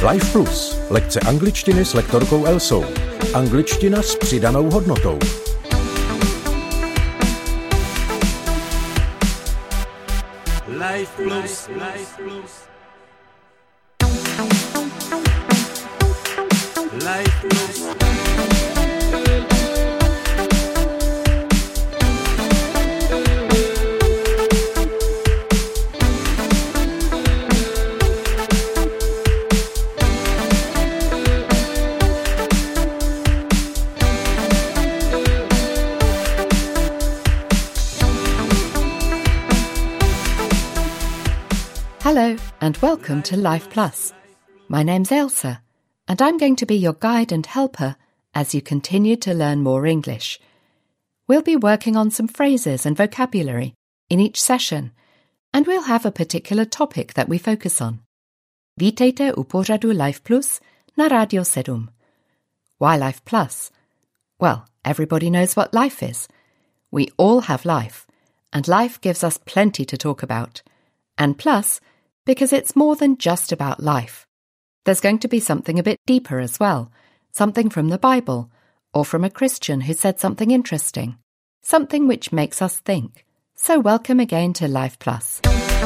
Life Plus. Lekce angličtiny s lektorkou Elsou. Angličtina s přidanou hodnotou. Life Plus. Life Plus. Life Plus. Hello and welcome to Life Plus. My name's Elsa and I'm going to be your guide and helper as you continue to learn more English. We'll be working on some phrases and vocabulary in each session and we'll have a particular topic that we focus on. Vítejte u pořadu Life Plus na Radio 7. Why Life Plus? Well, everybody knows what life is. We all have life and life gives us plenty to talk about. And plus, because it's more than just about life. There's going to be something a bit deeper as well, something from the Bible, or from a Christian who said something interesting, something which makes us think. So welcome again to Life Plus.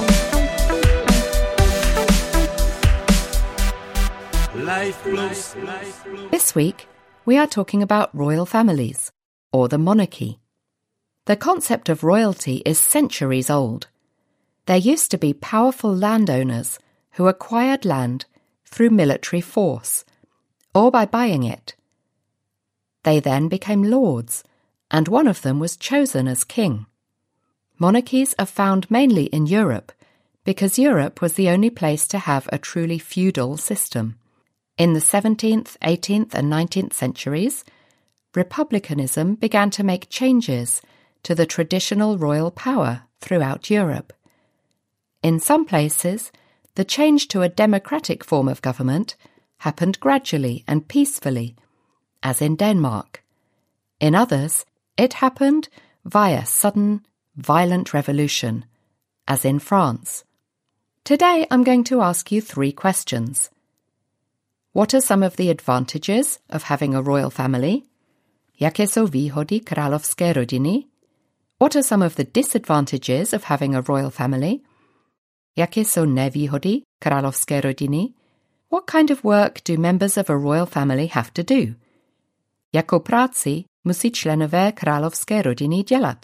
Life Plus. This week, we are talking about royal families, or the monarchy. The concept of royalty is centuries old. There used to be powerful landowners who acquired land through military force, or by buying it. They then became lords, and one of them was chosen as king. Monarchies are found mainly in Europe, because Europe was the only place to have a truly feudal system. In the 17th, 18th and 19th centuries, republicanism began to make changes to the traditional royal power throughout Europe. In some places, the change to a democratic form of government happened gradually and peacefully, as in Denmark. In others, it happened via sudden, violent revolution, as in France. Today I'm going to ask you 3 questions. What are some of the advantages of having a royal family? Jaké jsou výhody královské rodiny? What are some of the disadvantages of having a royal family? Jaké jsou nevýhody královské rodiny? What kind of work do members of a royal family have to do? Jakou práci musí členové královské rodiny dělat?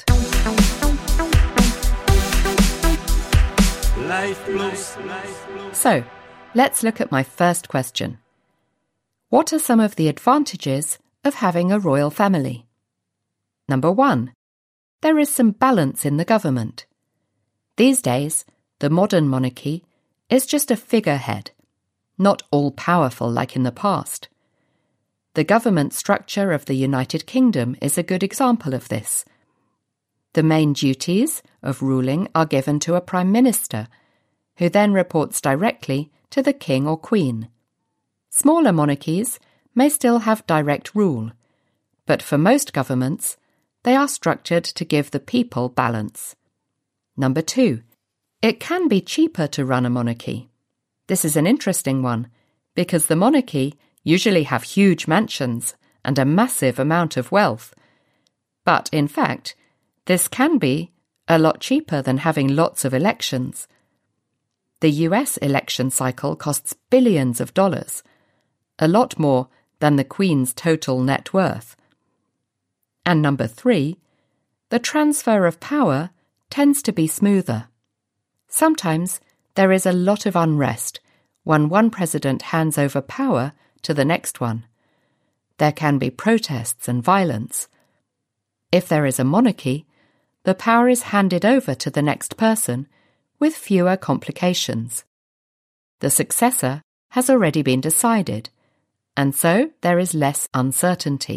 So, let's look at my first question. What are some of the advantages of having a royal family? Number 1. There is some balance in the government. These days, the modern monarchy is just a figurehead, not all-powerful like in the past. The government structure of the United Kingdom is a good example of this. The main duties of ruling are given to a Prime Minister, who then reports directly to the King or Queen. Smaller monarchies may still have direct rule, but for most governments, they are structured to give the people balance. Number 2. It can be cheaper to run a monarchy. This is an interesting one, because the monarchy usually have huge mansions and a massive amount of wealth. But in fact, this can be a lot cheaper than having lots of elections. The US election cycle costs billions of dollars, a lot more than the Queen's total net worth. And number 3, the transfer of power tends to be smoother. Sometimes there is a lot of unrest when one president hands over power to the next one. There can be protests and violence. If there is a monarchy, the power is handed over to the next person with fewer complications. The successor has already been decided, and so there is less uncertainty.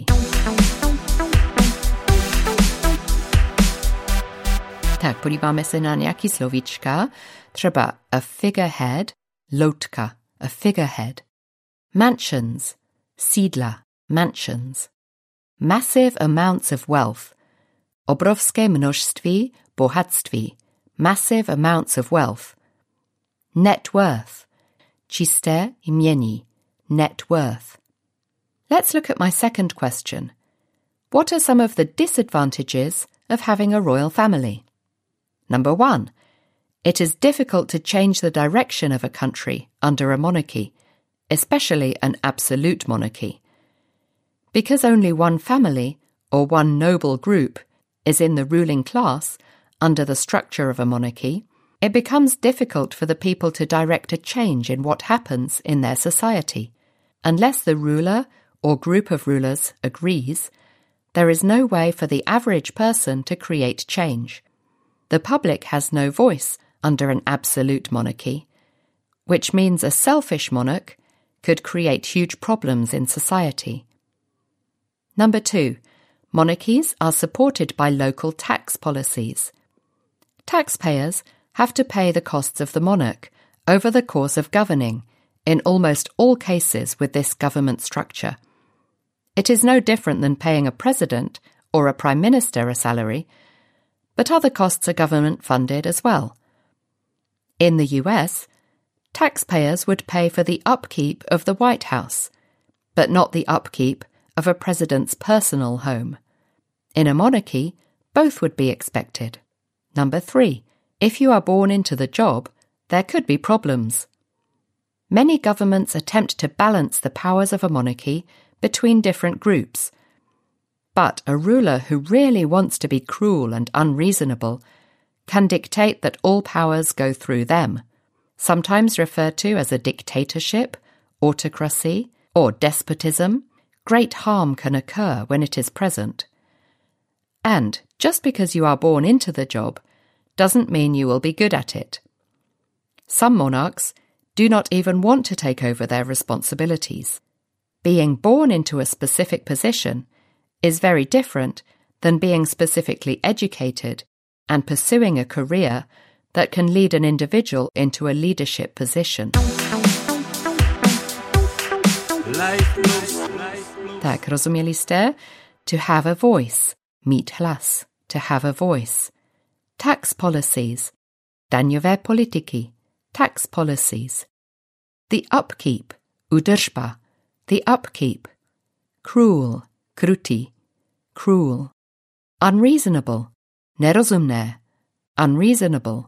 Tak, podíváme se na nějaký slovíčka, třeba a figurehead, loutka, a figurehead. Mansions, sídla, mansions. Massive amounts of wealth, obrovské množství bohatství, massive amounts of wealth. Net worth, čisté jmění, net worth. Let's look at my second question. What are some of the disadvantages of having a royal family? Number 1. It is difficult to change the direction of a country under a monarchy, especially an absolute monarchy. Because only one family or one noble group is in the ruling class under the structure of a monarchy, it becomes difficult for the people to direct a change in what happens in their society. Unless the ruler or group of rulers agrees, there is no way for the average person to create change. The public has no voice under an absolute monarchy, which means a selfish monarch could create huge problems in society. Number 2. Monarchies are supported by local tax policies. Taxpayers have to pay the costs of the monarch over the course of governing in almost all cases with this government structure. It is no different than paying a president or a prime minister a salary, but other costs are government-funded as well. In the US, taxpayers would pay for the upkeep of the White House, but not the upkeep of a president's personal home. In a monarchy, both would be expected. Number 3. If you are born into the job, there could be problems. Many governments attempt to balance the powers of a monarchy between different groups. But a ruler who really wants to be cruel and unreasonable can dictate that all powers go through them, sometimes referred to as a dictatorship, autocracy, or despotism. Great harm can occur when it is present. And just because you are born into the job doesn't mean you will be good at it. Some monarchs do not even want to take over their responsibilities. Being born into a specific position is very different than being specifically educated and pursuing a career that can lead an individual into a leadership position. Tak, rozuměli jste? To have a voice, mít hlas, to have a voice. Tax policies, daňové politiky, tax policies. The upkeep, údržba, the upkeep. Cruel, krutý, cruel. Unreasonable, nerozumné, unreasonable.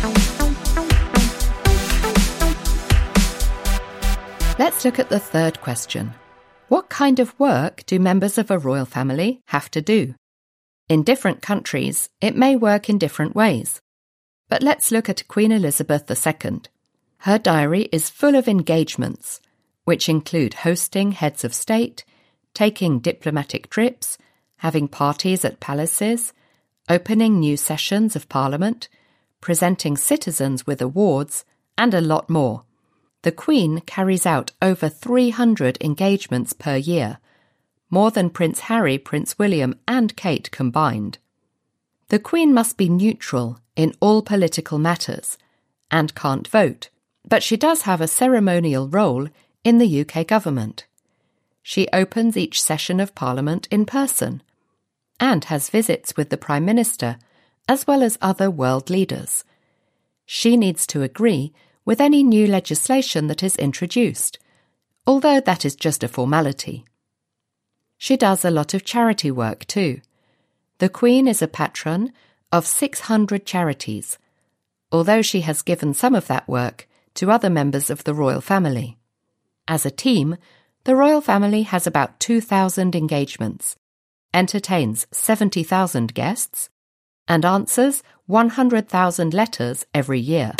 Let's look at the third question. What kind of work do members of a royal family have to do? In different countries, it may work in different ways. But let's look at Queen Elizabeth II. Her diary is full of engagements, which include hosting heads of state, taking diplomatic trips, having parties at palaces, opening new sessions of Parliament, presenting citizens with awards, and a lot more. The Queen carries out over 300 engagements per year, more than Prince Harry, Prince William, and Kate combined. The Queen must be neutral in all political matters and can't vote, but she does have a ceremonial role in the UK government. She opens each session of Parliament in person and has visits with the Prime Minister as well as other world leaders. She needs to agree with any new legislation that is introduced, although that is just a formality. She does a lot of charity work too. The Queen is a patron of 600 charities, although she has given some of that work to other members of the royal family. As a team, the royal family has about 2,000 engagements, entertains 70,000 guests, and answers 100,000 letters every year.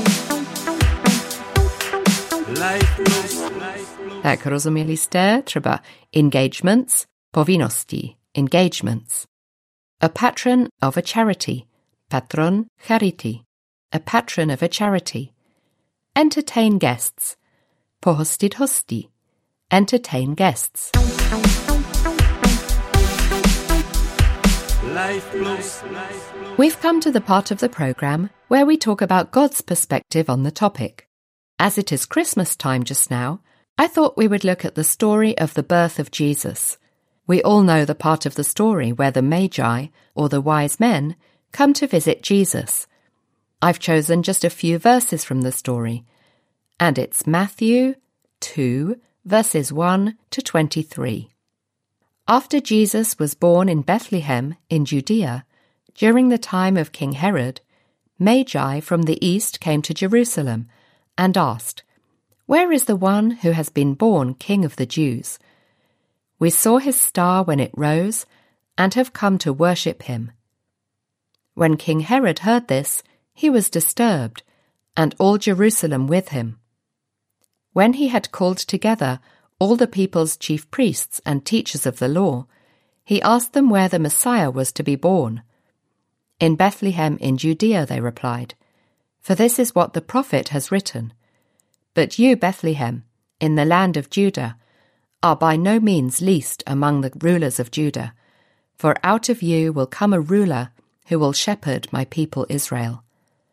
Tak, rozuměli jste? Třeba engagements, povinnosti, engagements. A patron of a charity, patron charity. A patron of a charity. Entertain guests, pohostit hosty. Entertain guests. We've come to the part of the programme where we talk about God's perspective on the topic. As it is Christmas time just now, I thought we would look at the story of the birth of Jesus. We all know the part of the story where the Magi, or the wise men, come to visit Jesus. I've chosen just a few verses from the story, and it's Matthew 2, verses 1 to 23. After Jesus was born in Bethlehem in Judea, during the time of King Herod, Magi from the east came to Jerusalem and asked, "Where is the one who has been born King of the Jews? We saw his star when it rose and have come to worship him." When King Herod heard this, he was disturbed, and all Jerusalem with him. When he had called together all the people's chief priests and teachers of the law, he asked them where the Messiah was to be born. "In Bethlehem in Judea," they replied, "for this is what the prophet has written. But you, Bethlehem, in the land of Judah, are by no means least among the rulers of Judah, for out of you will come a ruler who will shepherd my people Israel."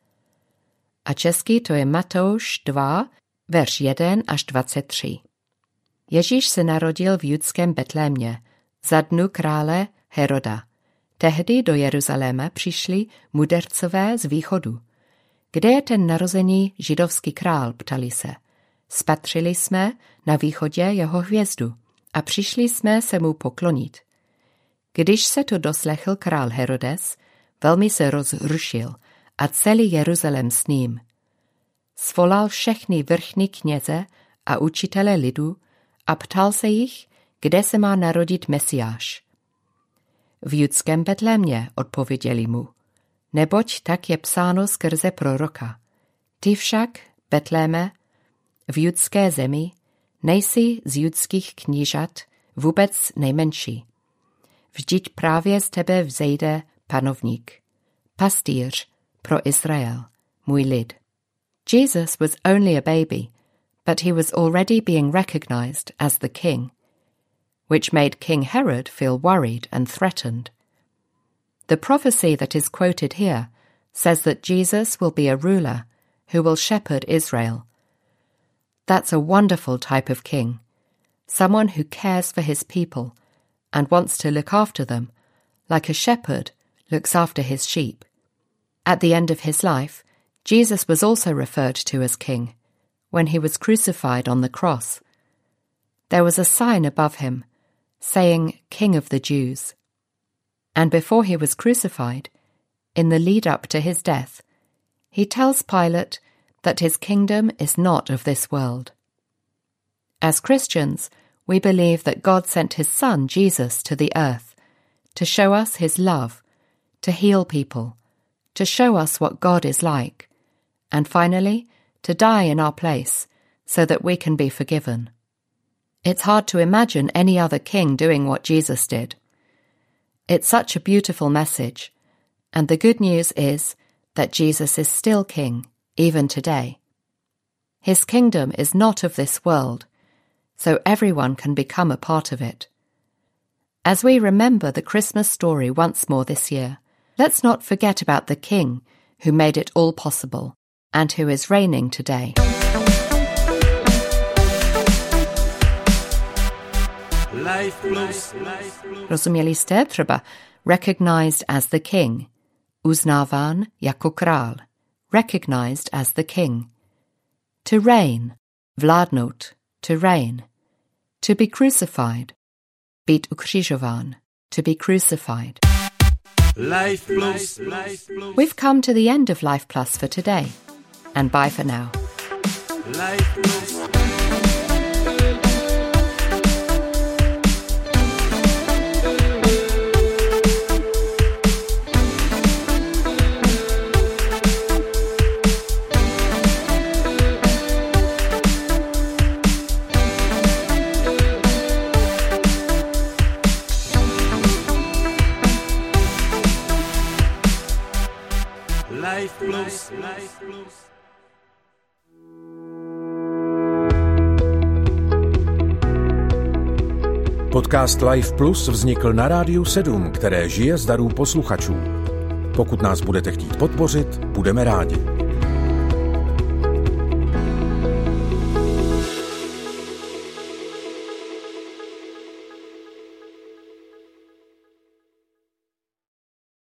A česky to je Matouš 2, verš 1 až 23. Ježíš se narodil v judském Betlémě, za dnu krále Heroda. Tehdy do Jeruzaléma přišli mudrcové z východu. "Kde je ten narozený židovský král?" ptali se. "Spatřili jsme na východě jeho hvězdu a přišli jsme se mu poklonit." Když se to doslechl král Herodes, velmi se rozrušil a celý Jeruzalém s ním. Svolal všechny vrchní kněze a učitele lidu a ptal se jich, kde se má narodit Mesiáš. "V judském Betlémě," odpověděli mu, "neboť tak je psáno skrze proroka. Ty však, Betléme, v judské zemi, nejsi z judských knížat vůbec nejmenší. Vždyť právě z tebe vzejde panovník, pastýř pro Izrael, můj lid." Jesus was only a baby, but he was already being recognized as the king, which made King Herod feel worried and threatened. The prophecy that is quoted here says that Jesus will be a ruler who will shepherd Israel. That's a wonderful type of king, someone who cares for his people and wants to look after them, like a shepherd looks after his sheep. At the end of his life, Jesus was also referred to as king when he was crucified on the cross. There was a sign above him saying, "King of the Jews." And before he was crucified, in the lead-up to his death, he tells Pilate that his kingdom is not of this world. As Christians, we believe that God sent his Son, Jesus, to the earth to show us his love, to heal people, to show us what God is like, and finally, to die in our place so that we can be forgiven. It's hard to imagine any other king doing what Jesus did. It's such a beautiful message, and the good news is that Jesus is still king, even today. His kingdom is not of this world, so everyone can become a part of it. As we remember the Christmas story once more this year, let's not forget about the King who made it all possible and who is reigning today. Life Plus. Rozuměli jste? Třeba recognized as the king, uznáván jako král, recognized as the king. To reign, vládnout, to reign. To be crucified, být ukřižován, to be crucified. Life Plus. We've come to the end of Life Plus for today, and bye for now. Life Plus. Life Plus. Podcast Life Plus vznikl na Rádiu 7, které žije z darů posluchačů. Pokud nás budete chtít podpořit, budeme rádi.